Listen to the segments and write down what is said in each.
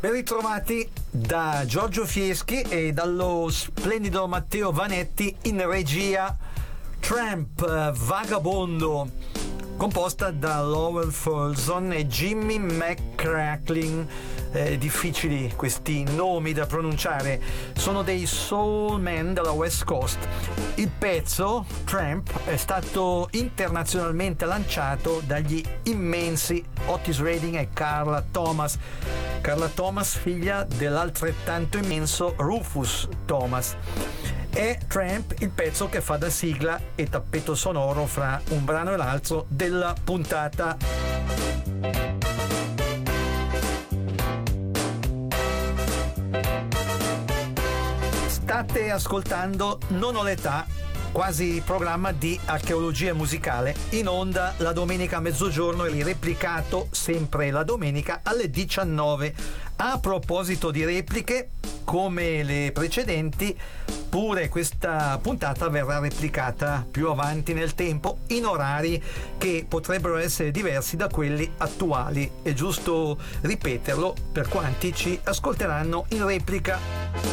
Ben ritrovati da Giorgio Fieschi e dallo splendido Matteo Vanetti in regia. Tramp, Vagabondo, composta da Lowell Fulson e Jimmy McCracklin. Difficili questi nomi da pronunciare, sono dei soul man della West Coast. Il pezzo Tramp è stato internazionalmente lanciato dagli immensi Otis Redding e Carla Thomas, figlia dell'altrettanto immenso Rufus Thomas. È Tramp il pezzo che fa da sigla e tappeto sonoro fra un brano e l'altro della puntata. State ascoltando Non ho l'età, quasi programma di archeologia musicale, in onda la domenica a mezzogiorno e replicato sempre la domenica alle 19. A proposito di repliche, come le precedenti, pure questa puntata verrà replicata più avanti nel tempo in orari che potrebbero essere diversi da quelli attuali. È giusto ripeterlo per quanti ci ascolteranno in replica.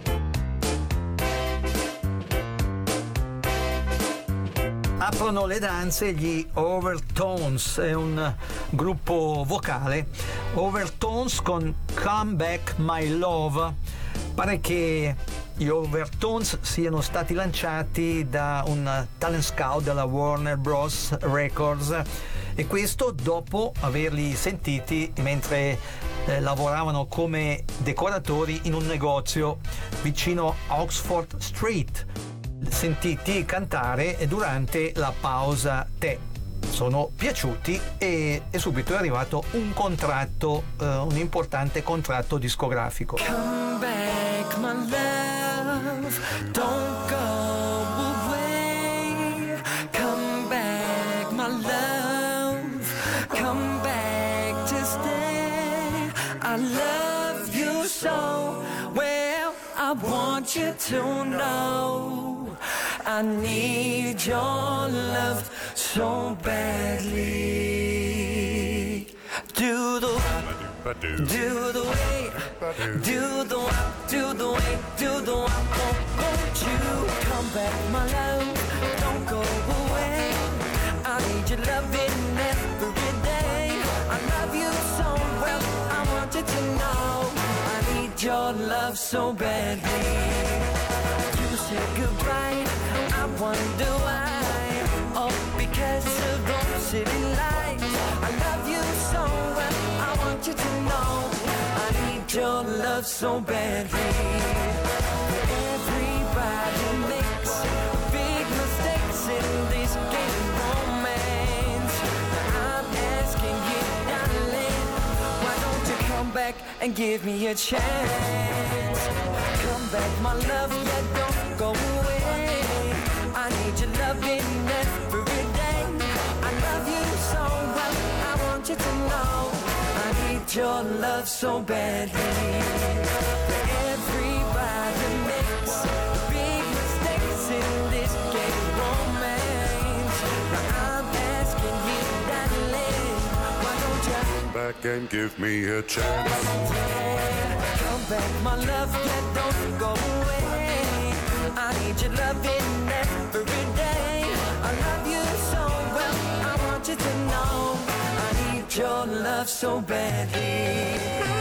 Aprono le danze gli Overtones, è un gruppo vocale. Overtones con Come Back My Love. Pare che gli Overtones siano stati lanciati da un talent scout della Warner Bros. Records, e questo dopo averli sentiti mentre lavoravano come decoratori in un negozio vicino Oxford Street, sentiti cantare durante la pausa tè. Sono piaciuti e subito è arrivato un contratto, un importante contratto discografico. Come back my love, don't go away. Come back my love, come back to stay. I love you so well, I want you to know I need your love so badly. Do the way, do the way, do the way, won't you come back, my love, don't go away. I need your loving every day. I love you so well, I want you to know I need your love so badly. You said goodbye, I wonder why. Oh, because of those city lights. I love you so well, I want you to know I need your love so badly. Everybody makes big mistakes in this game romance. I'm asking you, darling, why don't you come back and give me a chance? Come back, my love, yeah, don't go away. I need your loving every day. I love you so well, I want you to know I need your love so badly. Everybody makes big mistakes in this game romance. Now I'm asking you, darling, why don't you come back and give me a chance? Come back, my love, yeah, don't go away. I need your loving every day. I love you so well, I want you to know I need your love so badly.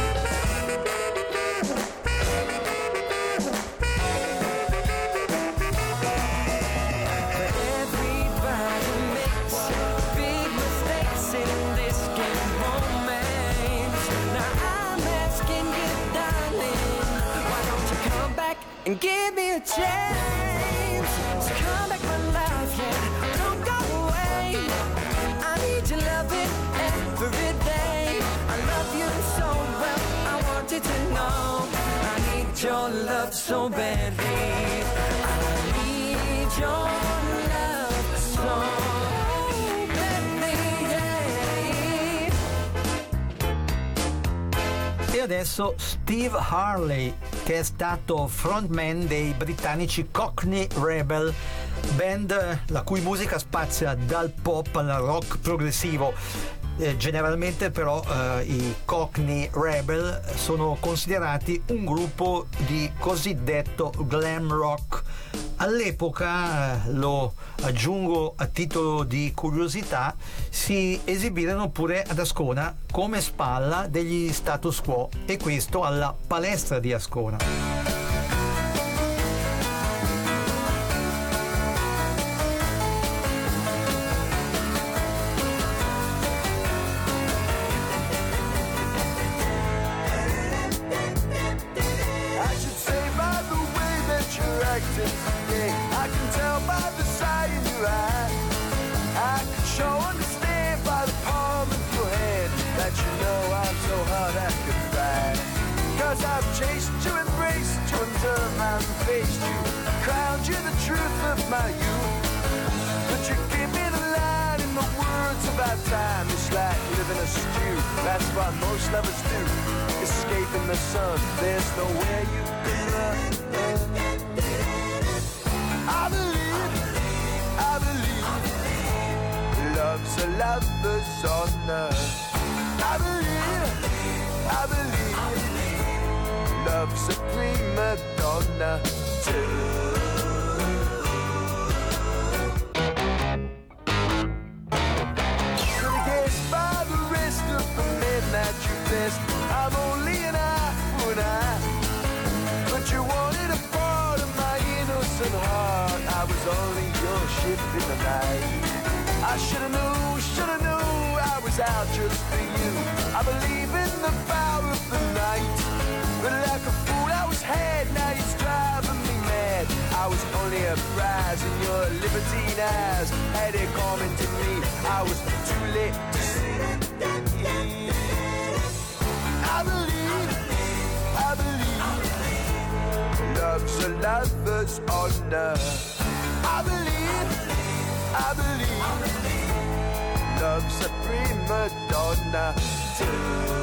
Everybody makes big mistakes in this game romance. Now I'm asking you, darling, why don't you come back and give me a chance? So come back, my love, yeah, don't go away. I need your loving every day. I love you so well, I want you to know I need your love so badly. I need your love so badly, yeah. E adesso Steve Harley, che è stato frontman dei britannici Cockney Rebel, band la cui musica spazia dal pop al rock progressivo. Generalmente però i Cockney Rebel sono considerati un gruppo di cosiddetto glam rock. All'epoca, lo aggiungo a titolo di curiosità, si esibirono pure ad Ascona come spalla degli Status Quo, e questo alla Palestra di Ascona. That's what most lovers do, escaping the sun. There's nowhere you can run. I believe, love's a lover's honor. I believe, love's a prima donna too. That you best, I'm only an eye for an eye, but you wanted a part of my innocent heart. I was only your ship in the night. I should've knew I was out just for you. I believe in the power of the night, but like a fool I was had. Now you're driving me mad. I was only a prize in your libertine eyes. Had it coming to me, I was too late to see. I believe, love's a lover's honor. I believe, love's a prima donna too.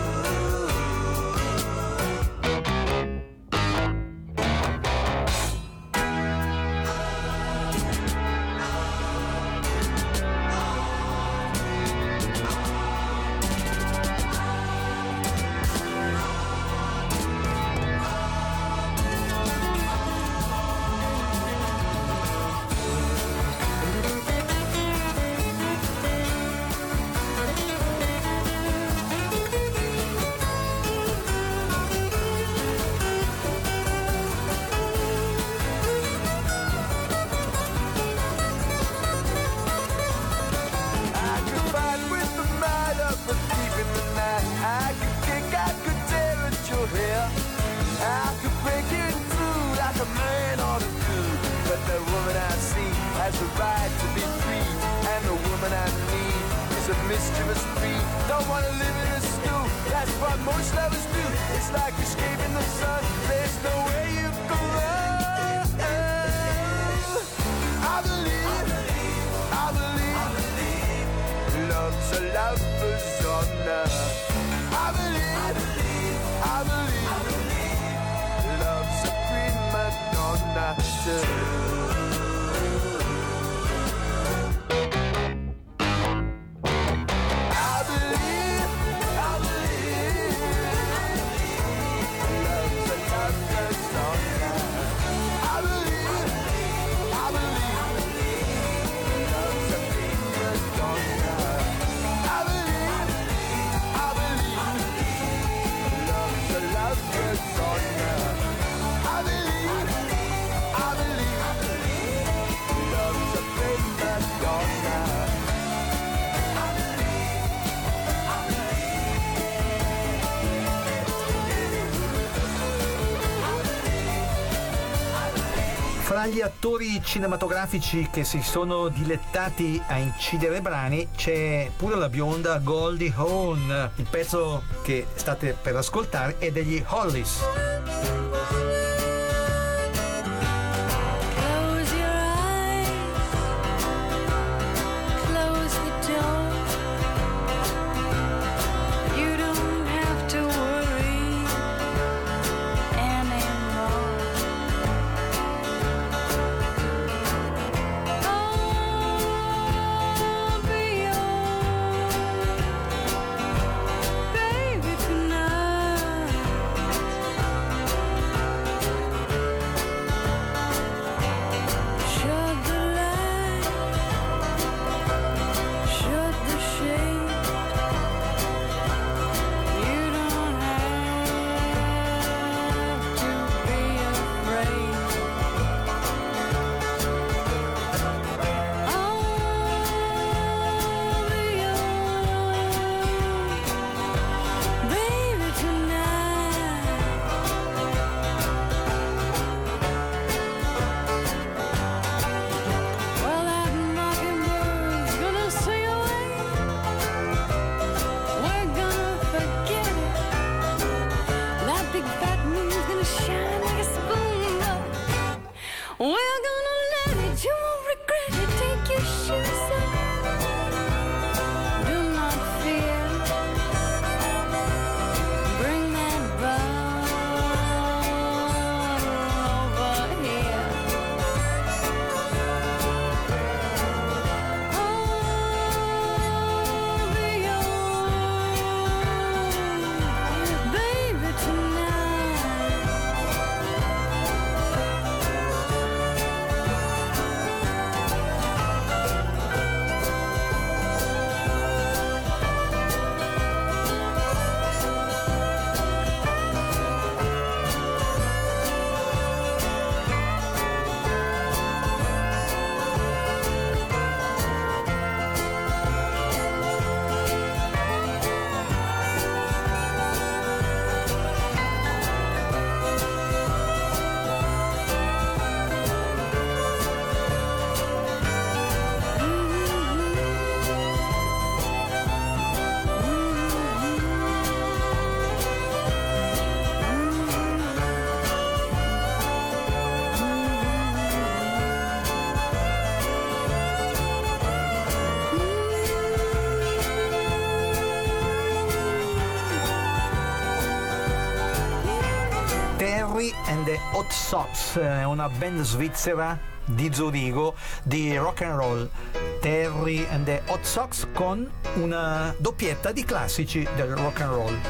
Mischievous breed, don't wanna live in a stew. That's what most lovers do. It's like escaping the sun. There's no way you can run. I believe, love's a lover's honor. I believe, love's a prima donna too. Fra gli attori cinematografici che si sono dilettati a incidere brani c'è pure la bionda Goldie Hawn. Il pezzo che state per ascoltare è degli Hollies. Terry and the Hot Sox, una band svizzera di Zurigo di rock and roll. Terry and the Hot Sox con una doppietta di classici del rock and roll.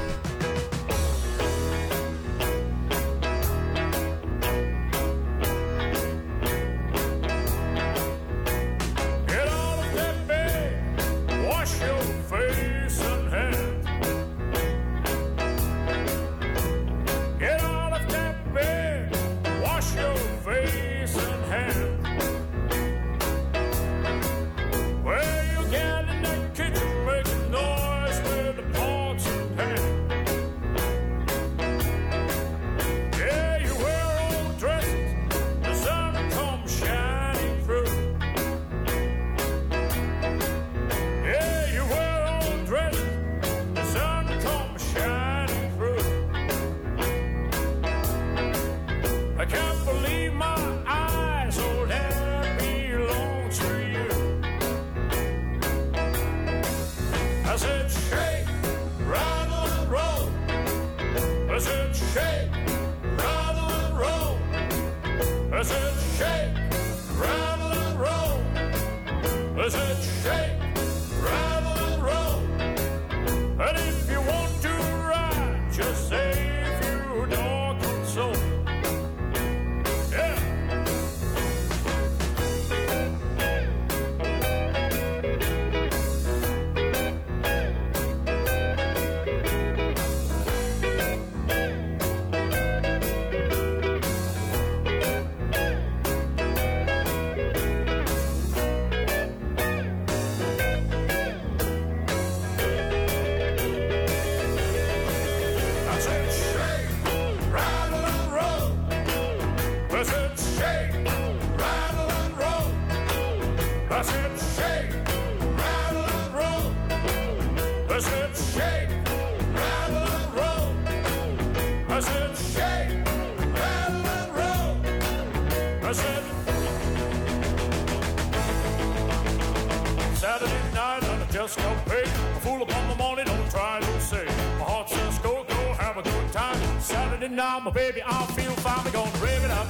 Now, my baby, I feel fine. We're gonna rev it up.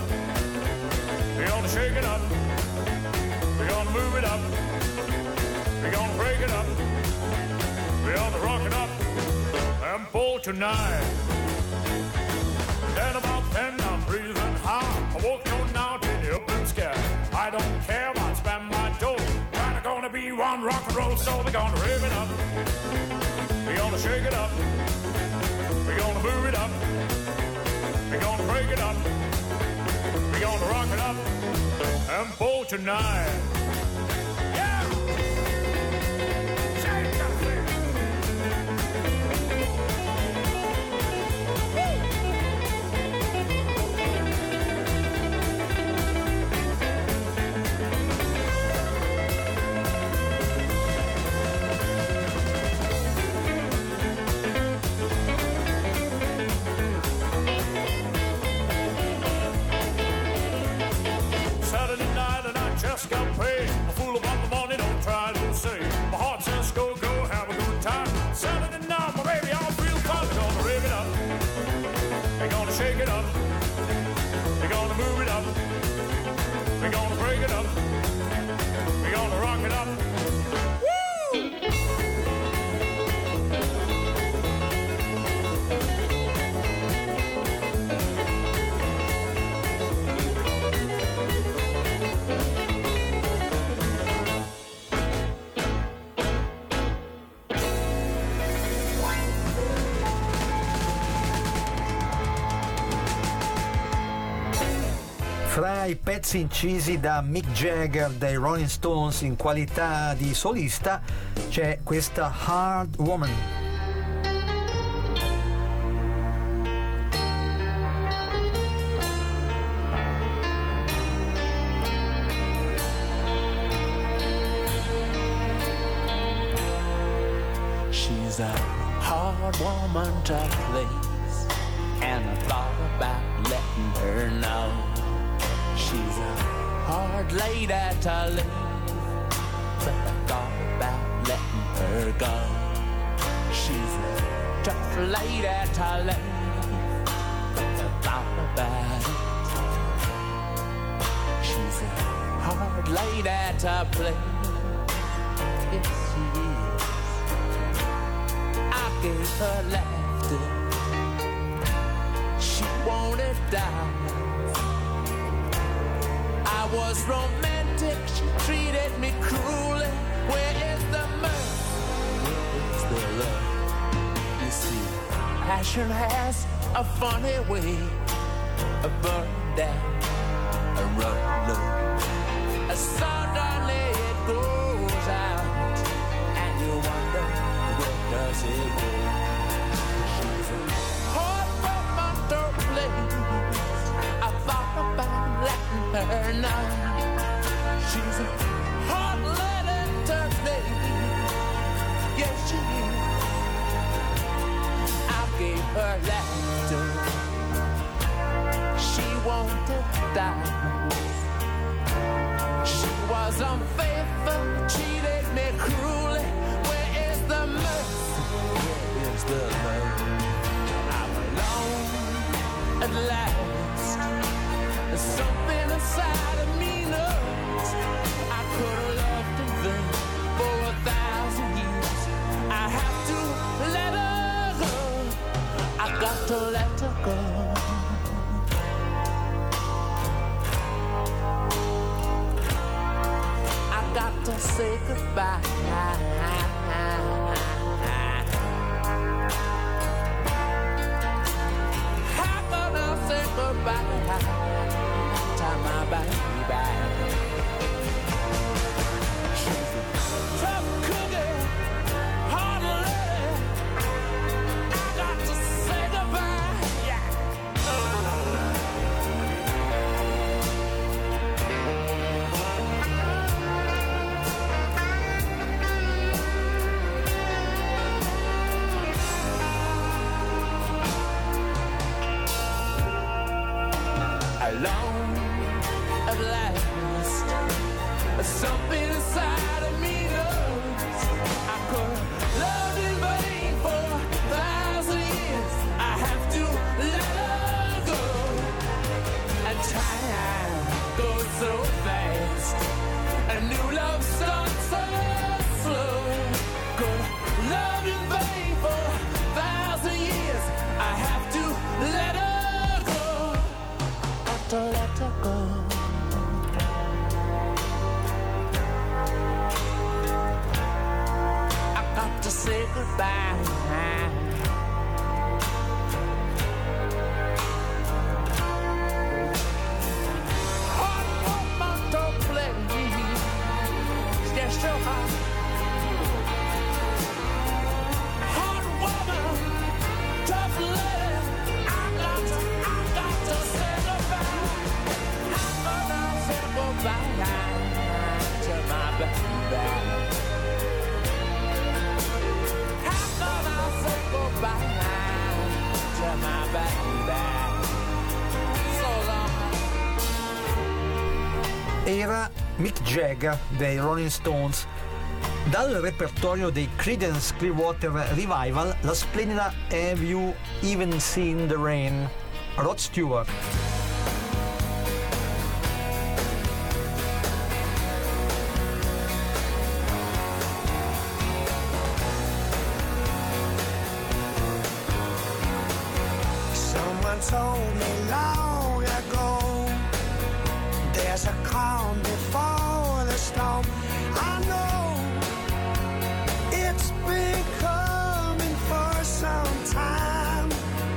We're gonna shake it up. We're gonna move it up. We're gonna break it up. We're gonna rock it up and pull tonight. Then about 10, I'm breathing high. I walk on out in the open sky. I don't care if I spend my dough. Kinda gonna be one rock and roll, so we're gonna rev it up. We're gonna shake it up. We're gonna move it up. We're gonna break it up. We're gonna rock it up and pull tonight. Yeah! Shake that thing! Just got paid. A fool about the money, don't try to say. My heart says go, go, have a good time. Saturday night, my baby, I'll feel fine. We're gonna rev it up. We're gonna shake it up. We're gonna move it up. We're gonna break it up. We're gonna rock it up. Fra i pezzi incisi da Mick Jagger dei Rolling Stones in qualità di solista c'è questa Hard Woman. She's a hard woman to please, and I thought about letting her know. She's a hard lady to leave, but I thought about letting her go. She's a tough lady to leave, but I thought about it. She's a hard lady to play. Yes, she is. I gave her laughter. She wanted down. I was romantic. She treated me cruelly. Where is the mirth? Where is the love? You see, passion has a funny way of burning down and running low. Suddenly it goes out, and you wonder where does it go? She's a hard woman to please. I thought about letting her know. She's a hard lady to please. Yes, she is. I gave her laughter. She wanted diamonds. She was unfaithful, cheated me cruelly. Where is the mercy? Where is the love? I'm alone at last. There's something inside of me knows I could have loved in vain for 1,000 years. I have to let her go. I got to let her go. Got to say goodbye. How can I say goodbye to my baby? She's a tough cookie, hard lady. I got to say goodbye. Yeah. Alone at last, something inside of me knows I could have loved in vain for 1,000 years. I have to let her go, and time goes so fast, and new love starts so slow. Could have loved in vain for 1,000 years. I have to let her to let her go. I got to say goodbye. Hard woman to play. Yes, so hard. Hard woman, tough lady. I got to say goodbye. To my baby. How can I say goodbye to my baby? So long. Era Mick Jagger dei Rolling Stones. Dal repertorio dei Creedence Clearwater Revival, la splendida Have You Even Seen the Rain? Rod Stewart. Told me long ago there's a calm before the storm. I know it's been coming for some time.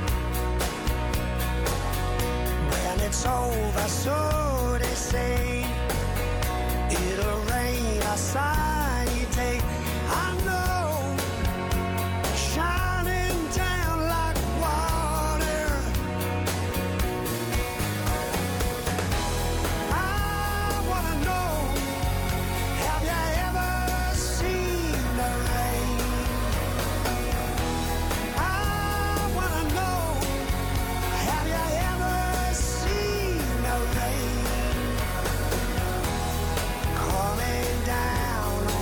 When it's over, so they say, it'll rain a sunny day. I know, shining down like water. I wanna know, have you ever seen the rain? I wanna know, have you ever seen the rain? Coming down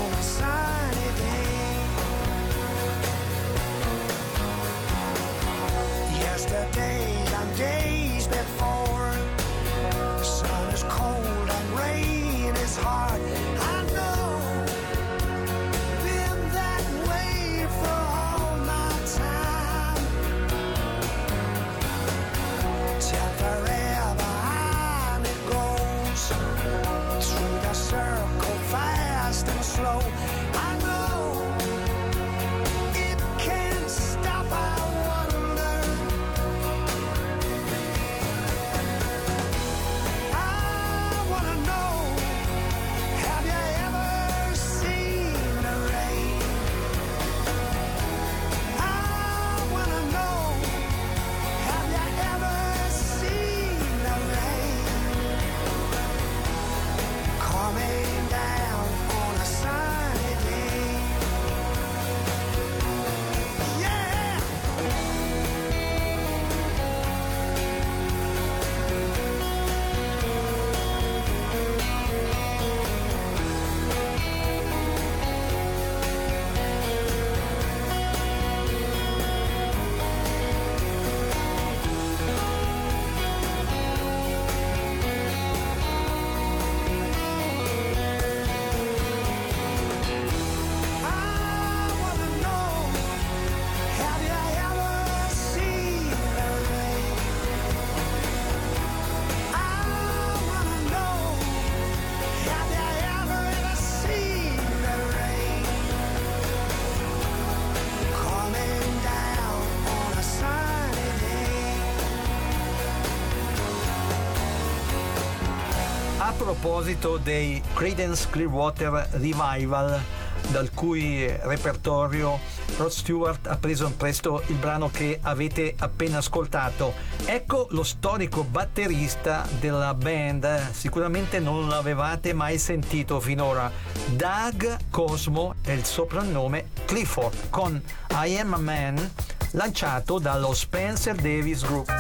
A proposito dei Creedence Clearwater Revival, dal cui repertorio Rod Stewart ha preso in prestito il brano che avete appena ascoltato. Ecco lo storico batterista della band, sicuramente non l'avevate mai sentito finora. Doug Cosmo è il soprannome, Clifford, con I Am a Man, lanciato dallo Spencer Davis Group.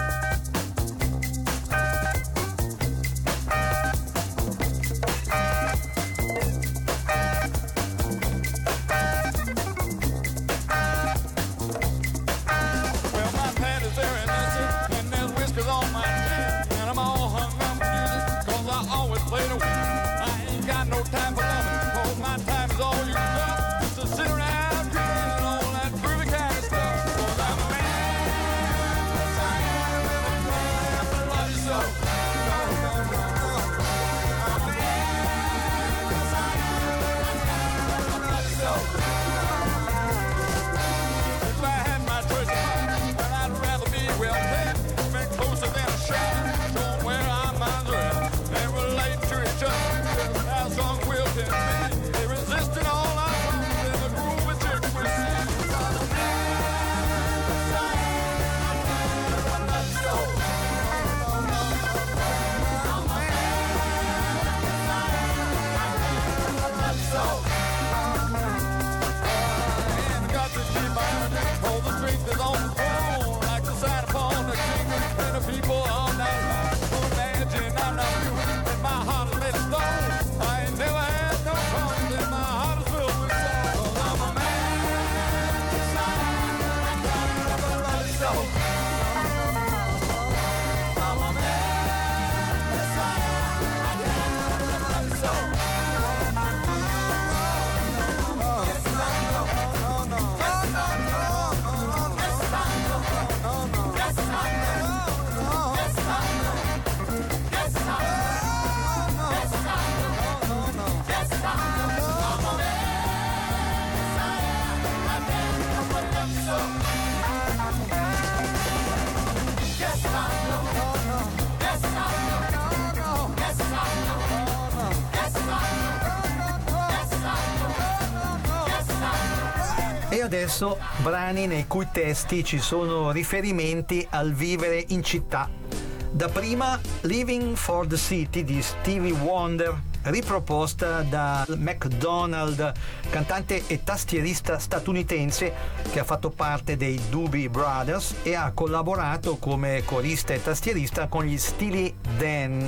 E adesso brani nei cui testi ci sono riferimenti al vivere in città. Dapprima Living for the City di Stevie Wonder, riproposta da McDonald, cantante e tastierista statunitense che ha fatto parte dei Doobie Brothers e ha collaborato come corista e tastierista con gli Steely Dan.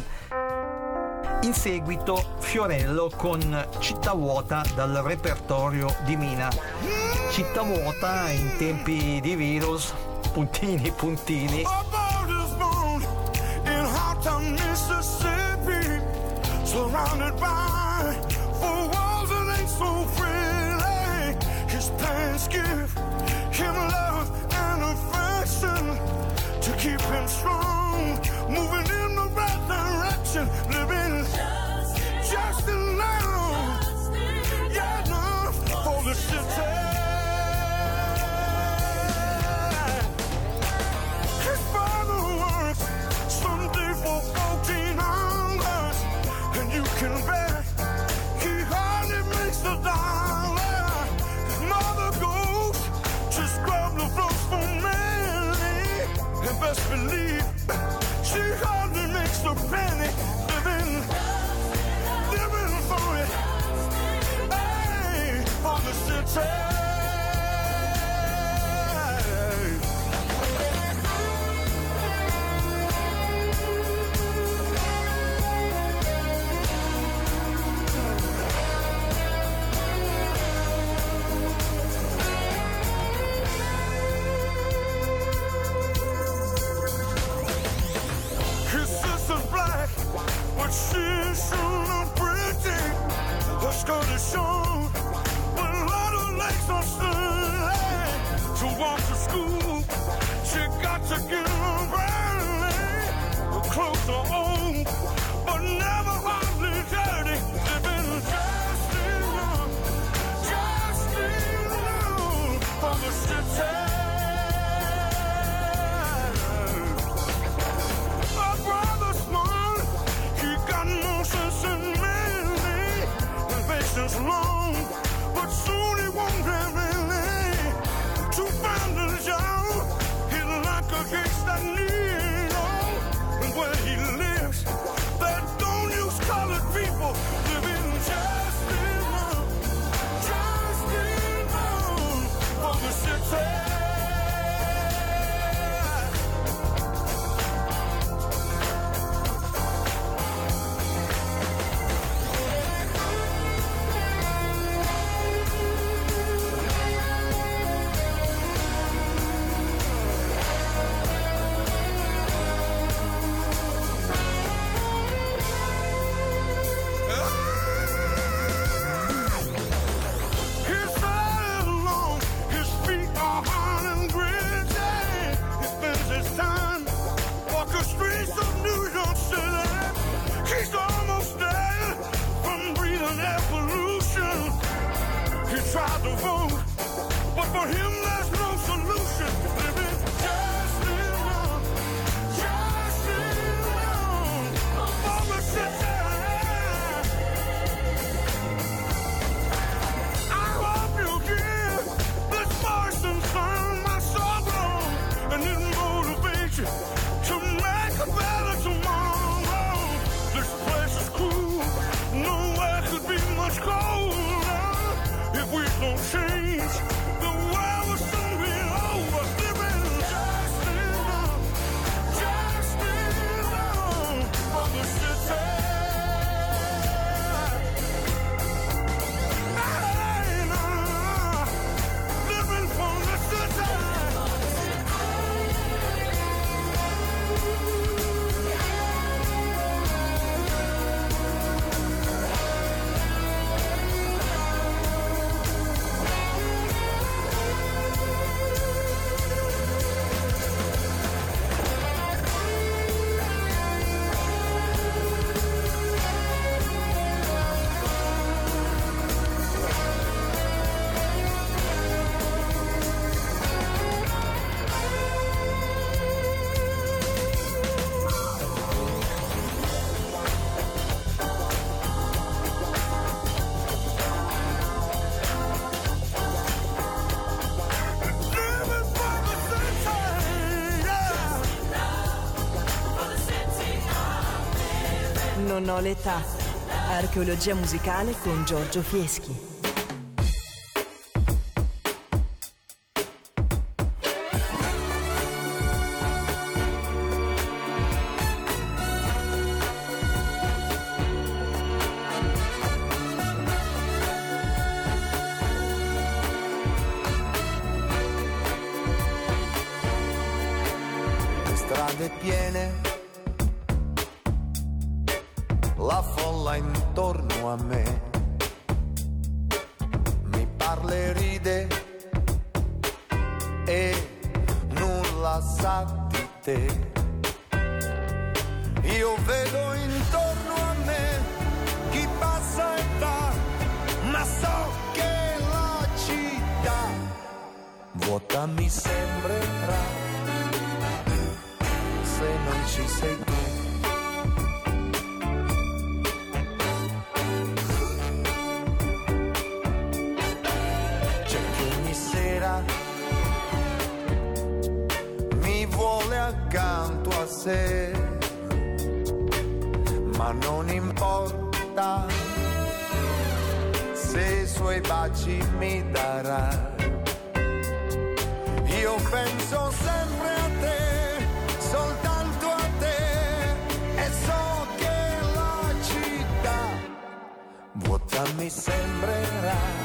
In seguito Fiorello con Città Vuota dal repertorio di Mina. Città Vuota in tempi di virus, puntini puntini. Surrounded by four walls that ain't so friendly. His parents give him love and affection to keep him strong, moving in the right direction, living just enough, yeah, enough for the city. His father works someday for 14 hours, and you can bet he hardly makes a dollar. His mother goes to scrub the floors for Melanie, and best believe she hardly makes a penny, living for it, hey, for the city. She's so pretty, her skirt is short, with a lot of legs on stage. To walk to school, she got to get her early. Her clothes are old, but never hardly dirty. Living just enough for the city. My brother's smart, he got no sense tried to vote, but for him there's no solution. Living just alone, for the city. I hope you give this voice and song my sorrow, and it motivates you to make a better tomorrow. This place is cruel, nowhere could be much colder. If we don't change, the world will soon be over. Living just enough for the city. Hey, nah, living for the city. Non ho l'età. Archeologia musicale con Giorgio Fieschi. Le strade piene, la folla intorno a me mi parla e ride e nulla sa di te. Io vedo intorno a me chi passa e va, ma so che la città vuota mi sembrerà se non ci sei tu. Mi vuole accanto a sé, ma non importa se i suoi baci mi darà. Io penso sempre a te, soltanto a te, e so che la città vuota mi sembrerà.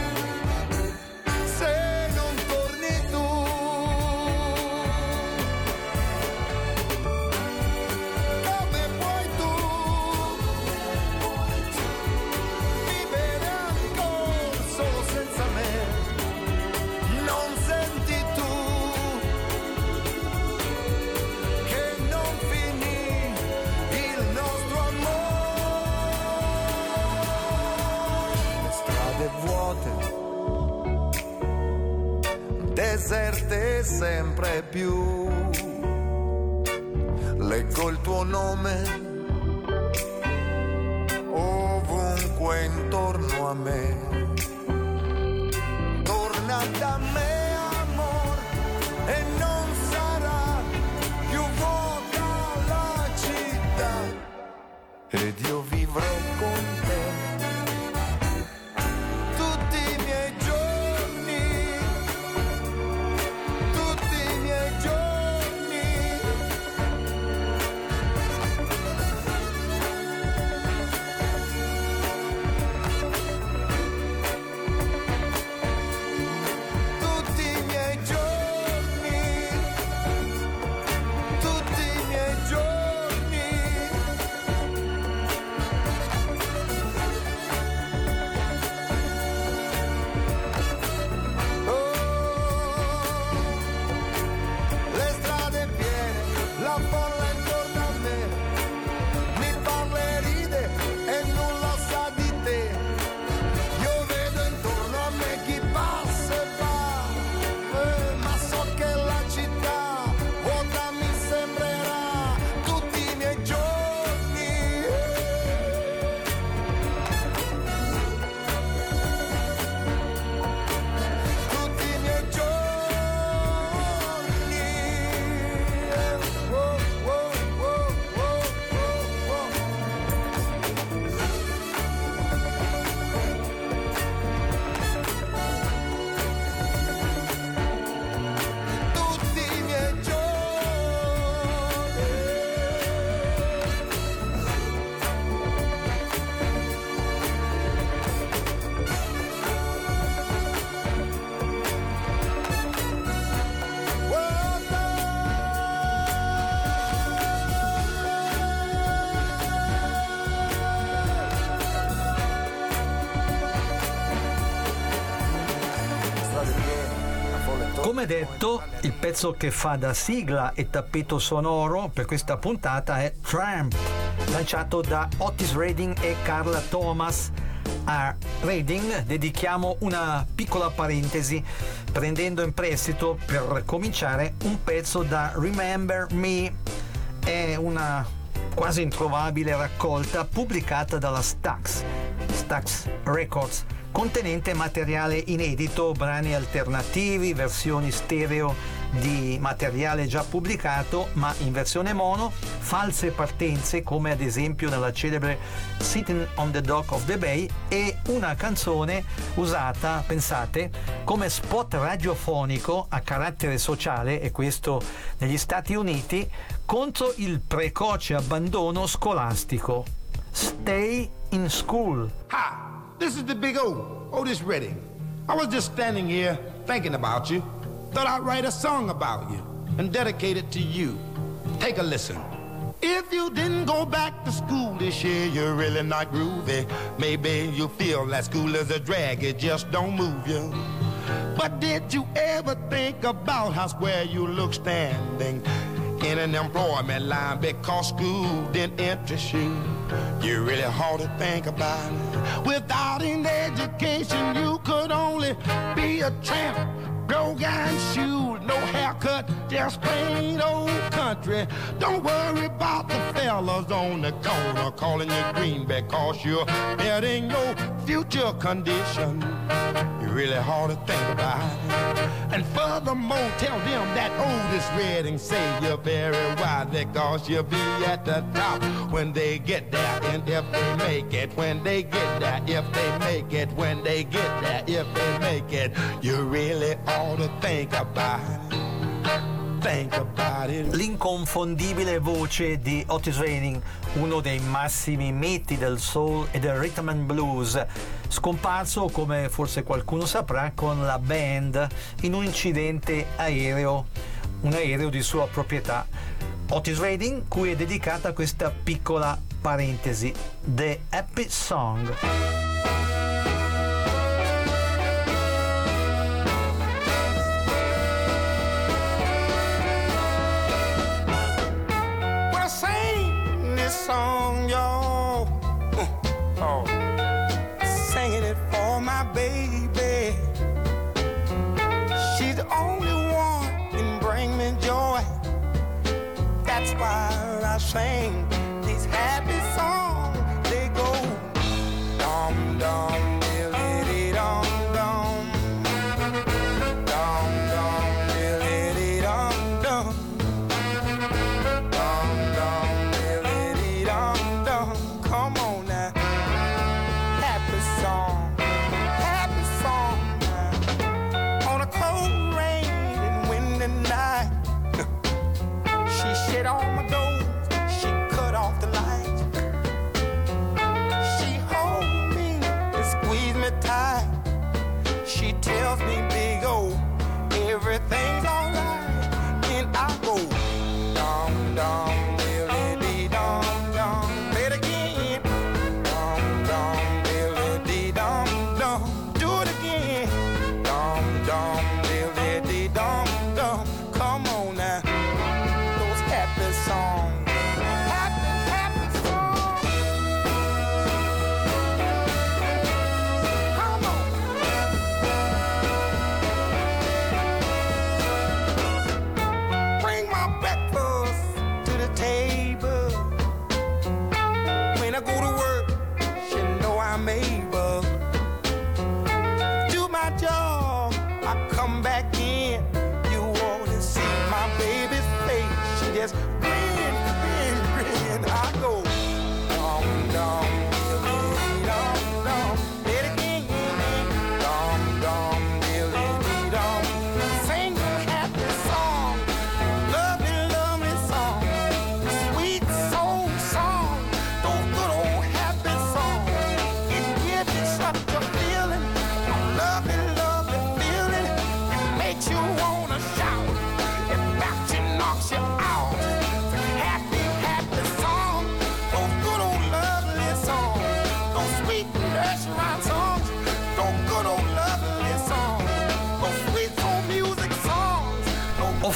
Deserte sempre più, leggo il tuo nome ovunque intorno a me. Torna da me amor e non sarà più vuota la città ed io vivrò con te. Come detto, il pezzo che fa da sigla e tappeto sonoro per questa puntata è Tramp, lanciato da Otis Redding e Carla Thomas. A Redding dedichiamo una piccola parentesi, prendendo in prestito per cominciare un pezzo da Remember Me. È una quasi introvabile raccolta pubblicata dalla Stax Records, contenente materiale inedito, brani alternativi, versioni stereo di materiale già pubblicato ma in versione mono, false partenze come ad esempio nella celebre Sitting on the Dock of the Bay, e una canzone usata, pensate, come spot radiofonico a carattere sociale, e questo negli Stati Uniti, contro il precoce abbandono scolastico. Stay in School. Hi, this is the big Otis Redding. I was just standing here thinking about you. Thought I'd write a song about you and dedicate it to you. Take a listen. If you didn't go back to school this year, you're really not groovy. Maybe you feel that school is a drag, it just don't move you. But did you ever think about how square you look standing in an employment line because school didn't interest you? You really hard to think about it. Without an education, you could only be a tramp. Broke iron shoes, no haircut, just plain old country. Don't worry about the fellas on the corner calling you green because you're betting your future condition. You're really hard to think about it. And furthermore, tell them that Otis Redding say you're very wise because you'll be at the top when they get there. And if they make it, when they get there, if they make it, when they get there, if they make it, you really ought to think about it. Think about it. L'inconfondibile voce di Otis Redding, uno dei massimi miti del soul e del rhythm and blues, scomparso, come forse qualcuno saprà, con la band in un incidente aereo, un aereo di sua proprietà. Otis Redding, cui è dedicata questa piccola parentesi, The Happy Song. Song, y'all. Singing it for my baby. She's the only one can bring me joy. That's why I sing these happy songs. They go dum dum diddly dum dum, dum dum diddly dum dum. Come on now, happy song now. On a cold, rain and windy night, she shut all my doors, she cut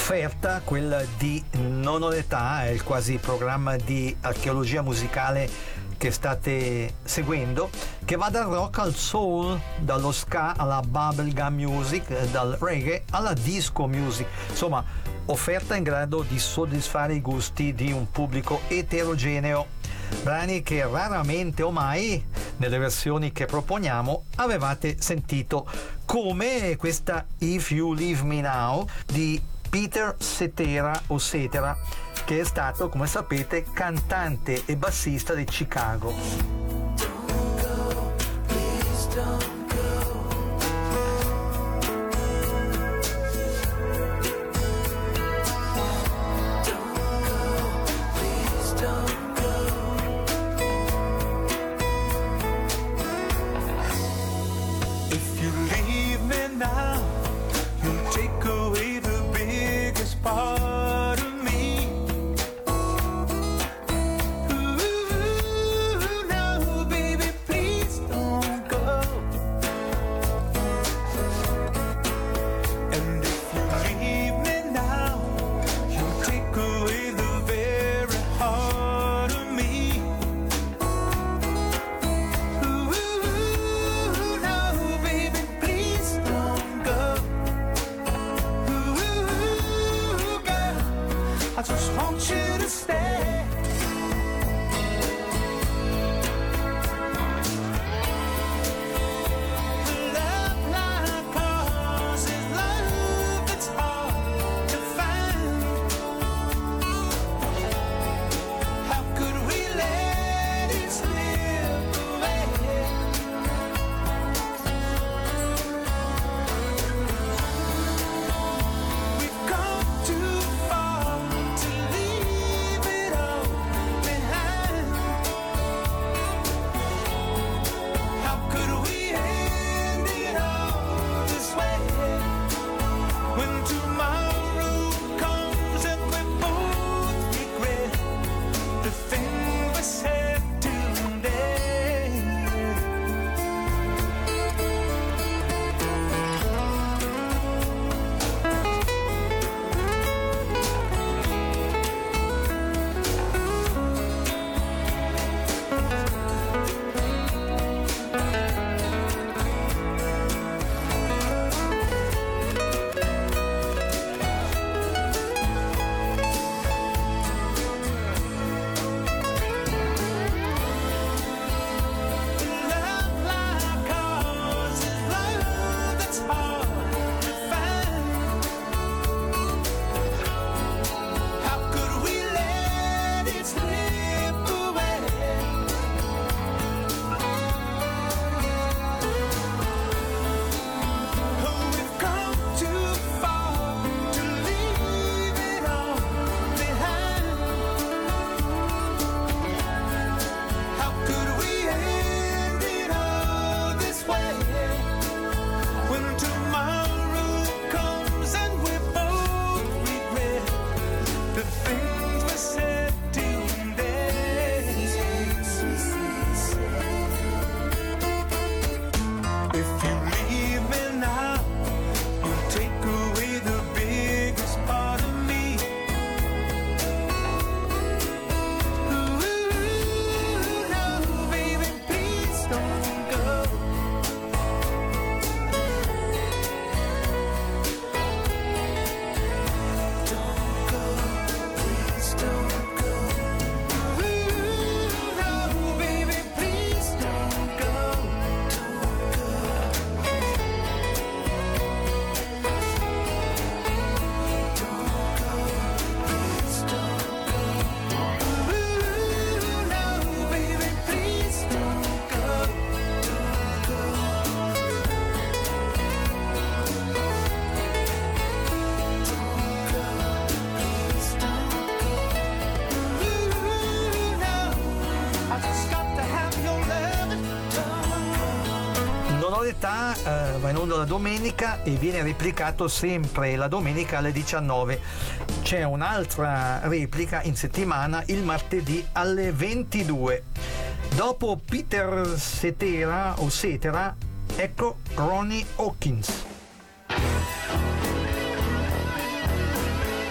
offerta, quella di Non ho l'età, è il quasi programma di archeologia musicale che state seguendo, che va dal rock al soul, dallo ska alla bubblegum music, dal reggae alla disco music, insomma offerta in grado di soddisfare i gusti di un pubblico eterogeneo, brani che raramente o mai nelle versioni che proponiamo avevate sentito, come questa If You Leave Me Now di Peter Cetera o Cetera, che è stato, come sapete, cantante e bassista di Chicago. Va in onda la domenica e viene replicato sempre la domenica alle 19. C'è un'altra replica in settimana il martedì alle 22. Dopo Peter Cetera o Cetera, ecco Ronnie Hawkins.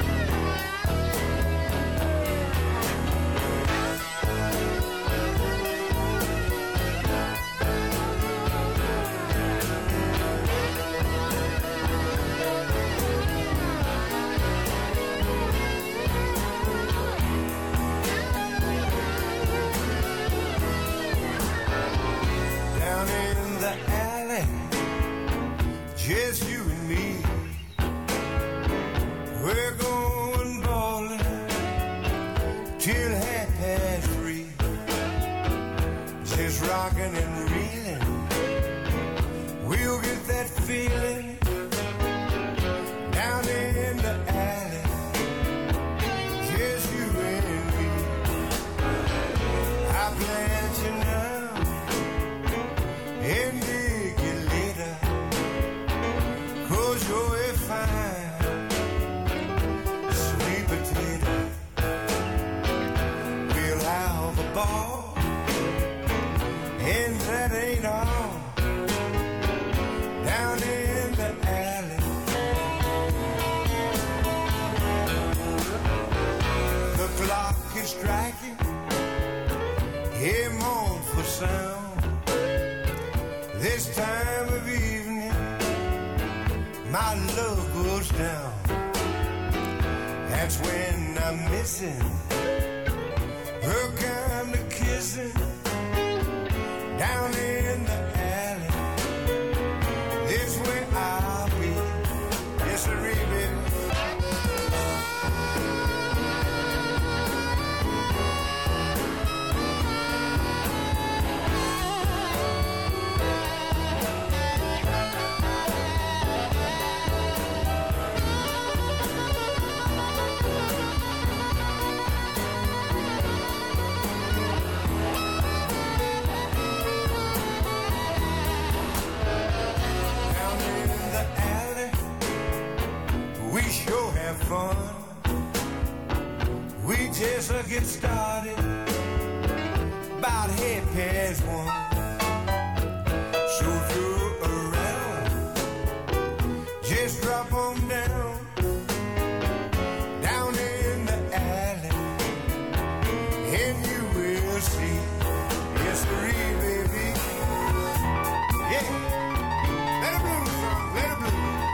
rocking and reeling. We'll get that feeling down in the alley, just you and me. I plant you now and dig you later, 'cause you're a fine sweet potato. We'll have a ball, and that ain't all, down in the alley. The clock is striking a mournful sound. This time of evening my love goes down. That's when I'm missing her kind of kissing down in the alley. This way I'll be. Yes, sir, baby. Fun. We just get started about 1:30. So if you're around, just drop on down in the alley, and you will see. Yes, baby. Yeah. Let it bloom, son. Let it bloom.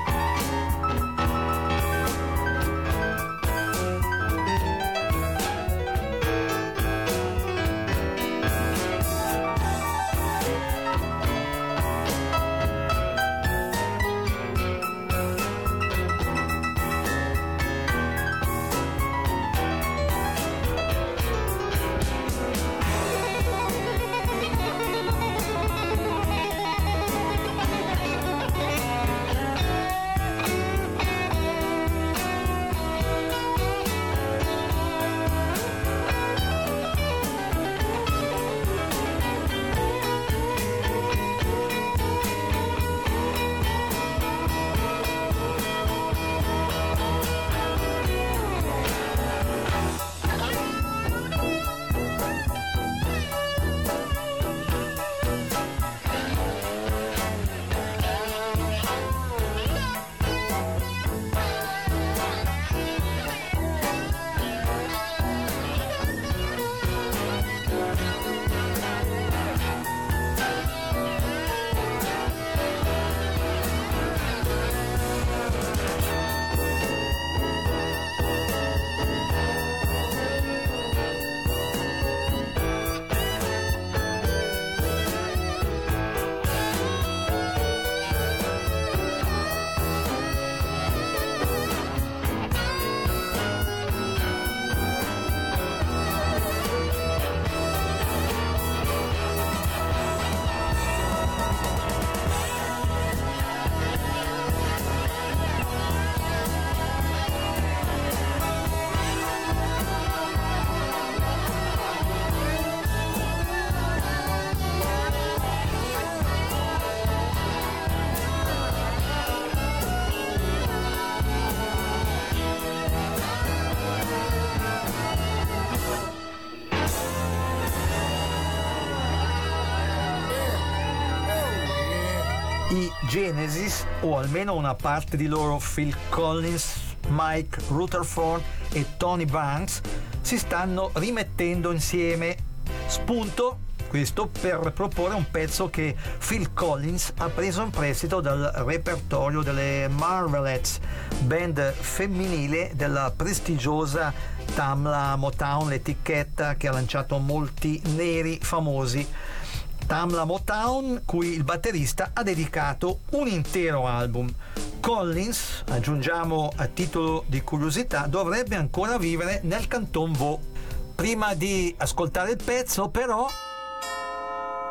I Genesis, o almeno una parte di loro, Phil Collins, Mike Rutherford e Tony Banks, si stanno rimettendo insieme. Spunto questo per proporre un pezzo che Phil Collins ha preso in prestito dal repertorio delle Marvelettes, band femminile della prestigiosa Tamla Motown, l'etichetta che ha lanciato molti neri famosi. Tamla Motown, cui il batterista ha dedicato un intero album. Collins, aggiungiamo a titolo di curiosità, dovrebbe ancora vivere nel Canton Vaud. Prima di ascoltare il pezzo, però,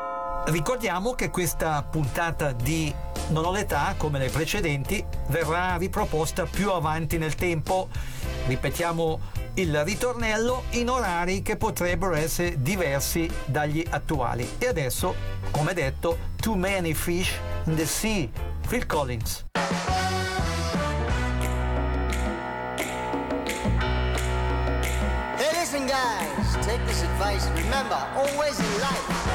Ricordiamo che questa puntata di Non ho l'età, come le precedenti, verrà riproposta più avanti nel tempo. Ripetiamo il ritornello in orari che potrebbero essere diversi dagli attuali. E adesso, come detto, Too Many Fish in the Sea, Phil Collins. Hey, listen, guys, take this advice. Remember, always in life,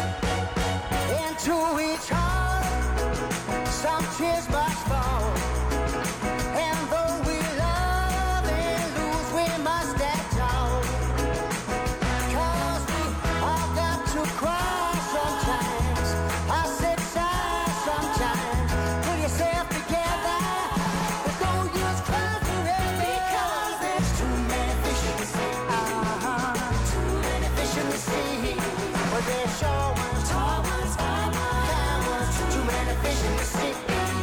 into each heart, some tears must fall. And though we love and lose, we must act out. 'Cause we all got to cry sometimes. I said sigh sometimes. Pull yourself together. But don't use cry forever. Because there's too many fish in the sea. Too many fish in the sea. But there's short ones, tall ones, kind ones. Too many fish in the sea.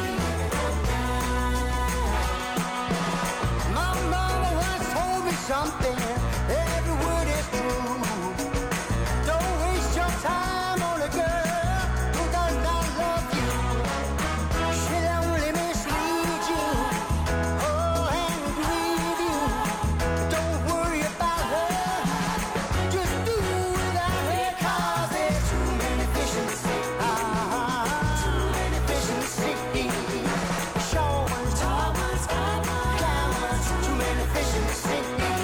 My mama once told me something. Every word is true. Don't waste your time on a girl who does not love you. She'll only mislead you, oh, and grieve you. Don't worry about her. Just do without her. 'Cause there's too many fish in the sea. Too many fish in the sea. Short ones, tall ones, kind ones. Too many fish in the sea.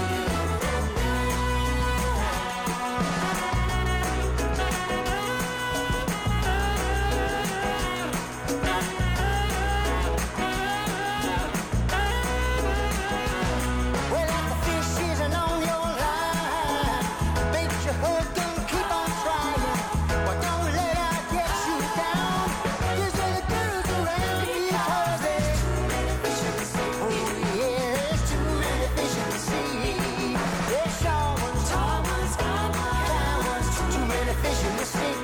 Well, if the fish isn't on your line, bait your hook and keep on trying. But don't let her get you down. There's other girls around because there's too many fish in the sea. Oh yeah, there's too many fish in the sea. There's short ones, tall ones, kind ones. Too many fish in the sea.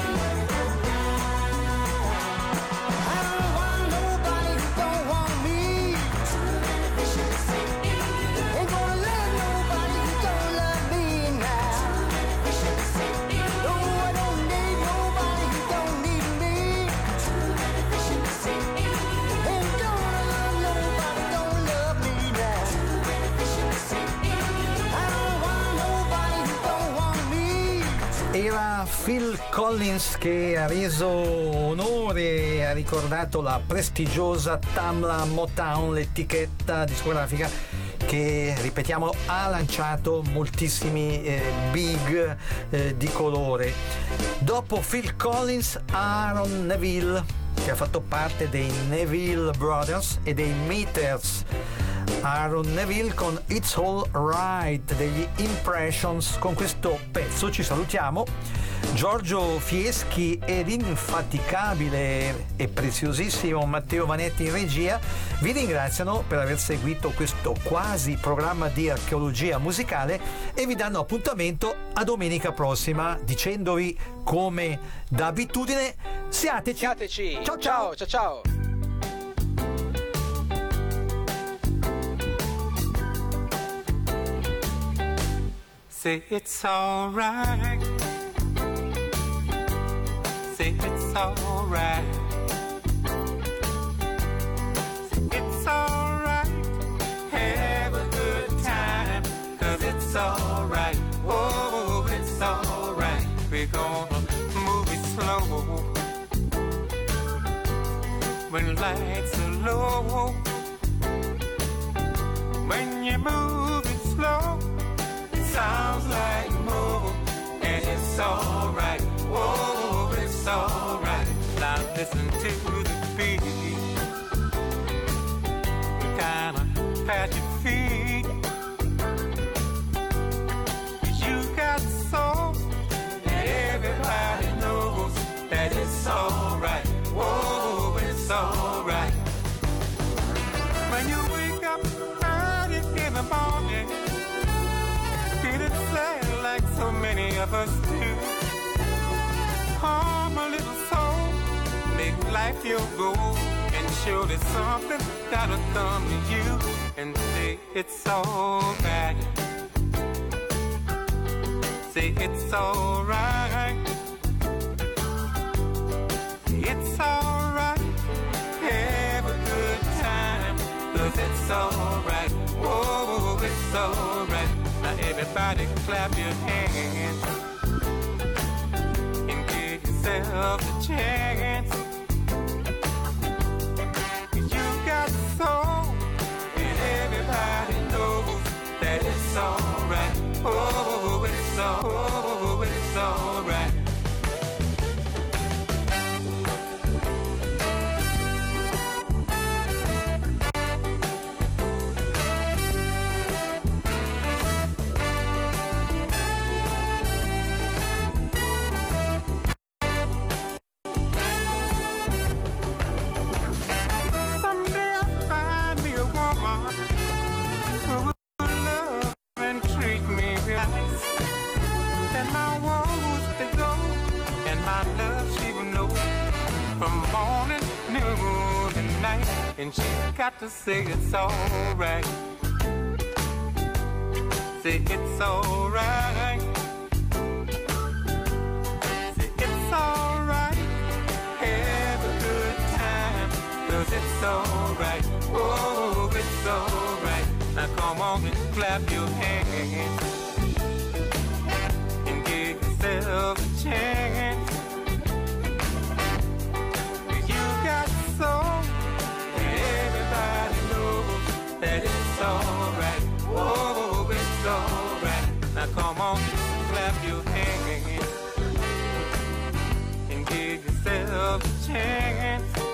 I don't want nobody who don't want me. Too many fish in the sea. Ain't gonna let nobody who don't love me now. Too many fish in the sea. No, I don't need nobody who don't need me. Too many fish in the sea. Ain't gonna love nobody who don't love me now. Too many fish in the sea. I don't want nobody who don't want me. Era Phil Collins che ha reso onore, ha ricordato la prestigiosa Tamla Motown, l'etichetta discografica che, ripetiamo, ha lanciato moltissimi big di colore. Dopo Phil Collins, Aaron Neville, che ha fatto parte dei Neville Brothers e dei Meters. Aaron Neville con It's All Right degli Impressions. Con questo pezzo ci salutiamo. Giorgio Fieschi e l'infaticabile e preziosissimo Matteo Vanetti in regia vi ringraziano per aver seguito questo quasi programma di archeologia musicale e vi danno appuntamento a domenica prossima, dicendovi come da abitudine: siateci. Ciao ciao. Ciao ciao. Say it's alright. Say it's alright. It's alright. Have a good time. 'Cause it's alright. Oh, it's alright. We're gonna move it slow. When lights are low. When you move it slow, sounds like more, and it's alright. Oh, it's alright. Now listen to the beat. Kinda pat your feet. You got soul, and everybody knows that it's alright. Oh, it's alright. When you wake up early in the morning, feeling sad like so many of us do. Calm a little soul, make life your goal, and surely something that'll come to you and say it's alright. Say it's alright. it's alright. Have a good time, 'cause it's alright. Oh, it's alright. Now everybody clap your hands and give yourself a chance. You got soul, and everybody knows that it's alright. Oh, it's alright. Someday I'll find me a woman who will love and treat me right. And my woes to go, and my love she will know from morning, noon, and night. And she's got to say it's alright. Say it's alright. Say it's alright. Have a good time, 'cause it's alright. Oh, it's alright. Now come on and clap your hands and give yourself a chance. You got soul, and everybody knows that it's alright. Oh, it's alright. Now come on and clap your hands and give yourself a chance.